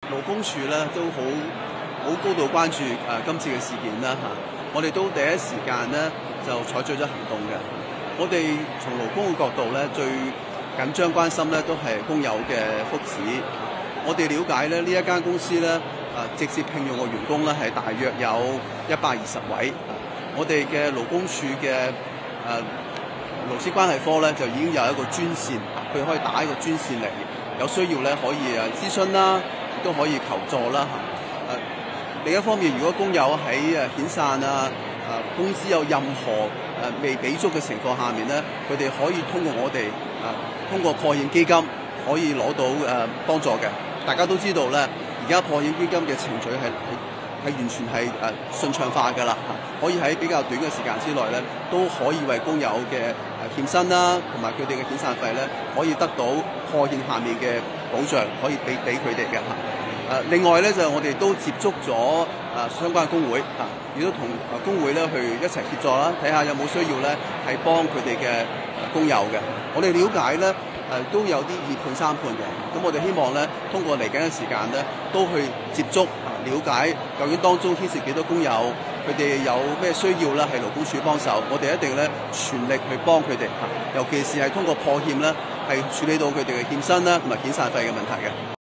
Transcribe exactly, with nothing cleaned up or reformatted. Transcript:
勞工處咧都好好高度關注誒、呃、今次嘅事件啦嚇、啊，我哋都第一時間咧就採取咗行動嘅。我哋從勞工嘅角度咧，最緊張關心咧都係工友嘅福祉。我哋了解咧呢一間公司咧誒、啊、直接聘用嘅員工咧係大約有一百二十位。啊、我哋嘅勞工處嘅誒、啊、勞資關係科咧就已經有一個專線，佢可以打一個專線嚟，有需要咧可以誒諮詢啦。都可以求助啦嚇。誒、啊、另一方面，如果工友喺誒遣散啊、誒、啊、工資有任何誒、啊、未俾足嘅情況下面咧，佢哋可以通過我哋誒、啊、通過破欠基金可以攞到誒、啊、幫助嘅。大家都知道咧，而家破欠基金嘅程序係係係完全係誒、啊、順暢化㗎啦，可以喺比較短嘅時間之內咧，都可以為工友嘅誒欠薪啦，同埋佢哋嘅遣散費咧，可以得到破欠下面嘅保障，可以俾俾佢哋嘅嚇。誒、啊、另外咧就我哋都接觸咗誒、啊、相關嘅工會嚇，亦、啊、都同誒工會咧去一齊協助啦，睇下有冇需要咧係幫佢哋嘅工友嘅。我哋了解咧誒、啊、都有啲二判三判嘅，咁我哋希望咧通過嚟緊嘅時間咧都去接觸啊，了解究竟當中牽涉幾多工友，佢哋有咩需要咧係勞工處幫手，我哋一定咧全力去幫佢哋嚇，尤其是係通過破欠咧係處理到佢哋嘅欠薪啦同埋遣散費嘅問題嘅。